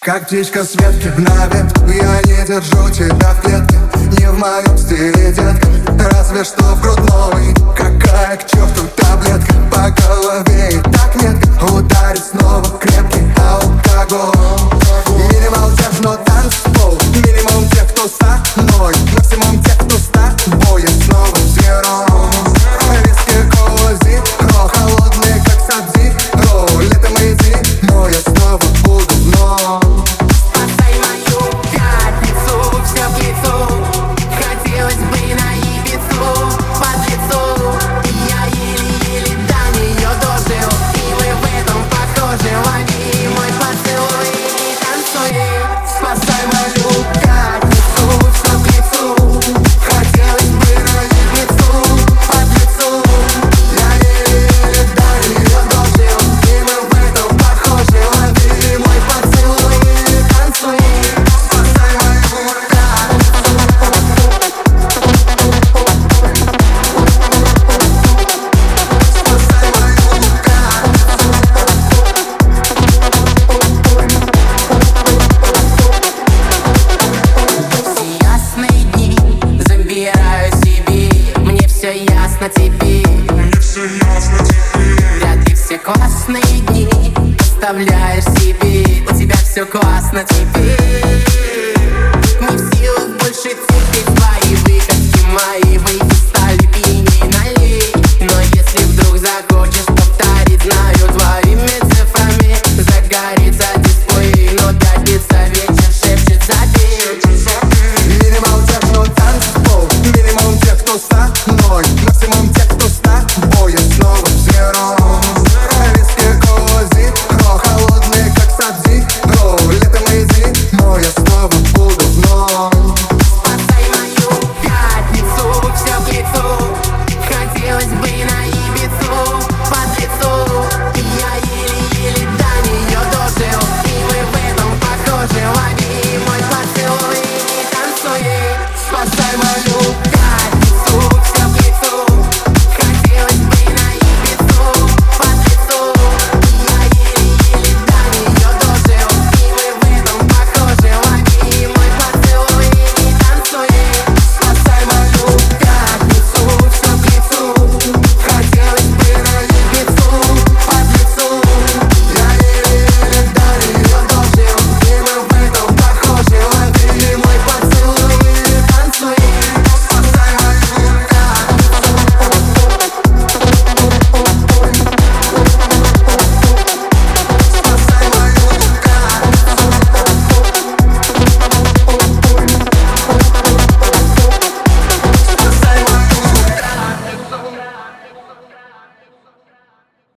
Как птичка с ветки на ветку, я не держу тебя в клетке. Не в моем стиле, детка, разве что в грудной. Какая к черту таблетка, по голове и так метко. Ударит снова крепкий алкоголь. Минимал техно танцпол, минимум тех, кто со мной, максимум тех, кто с тобой. Я снова зеро. Виски, кола, зиро, холодные, как сабзиро. Летом и зимой я снова буду вновь. Спасай мою пятницу, все к лицу. Хотелось бы на Ибицу, под лицу. Я еле-еле до нее дожил, и мы в этом похожи. Лови мой поцелуй и танцуй. Спасай мою пятницу, все к лицу. Хотелось бы на Ибицу, под лицу. Я еле-еле до нее дожил, и мы в этом похожи. Лови мой поцелуй и танцуй. Спасай мою ясные дни забираю себе. Мне все ясно теперь. Вряд ли все классные дни оставляешь себе. У тебя все классно теперь. Не в силах больше терпеть твои выходки, мои выходки.